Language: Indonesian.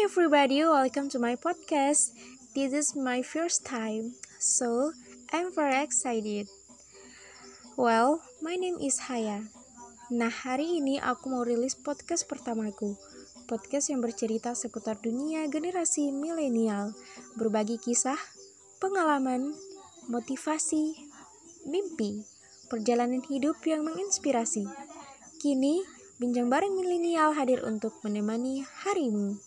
everybody, welcome to my podcast. This is my first time, so I'm very excited. Well, my name is Haya. Nah, hari ini aku mau rilis podcast pertamaku. Podcast yang bercerita seputar dunia generasi milenial, berbagi kisah, pengalaman, motivasi, mimpi, perjalanan hidup yang menginspirasi. Kini, Bincang Bareng Milenial hadir untuk menemani harimu.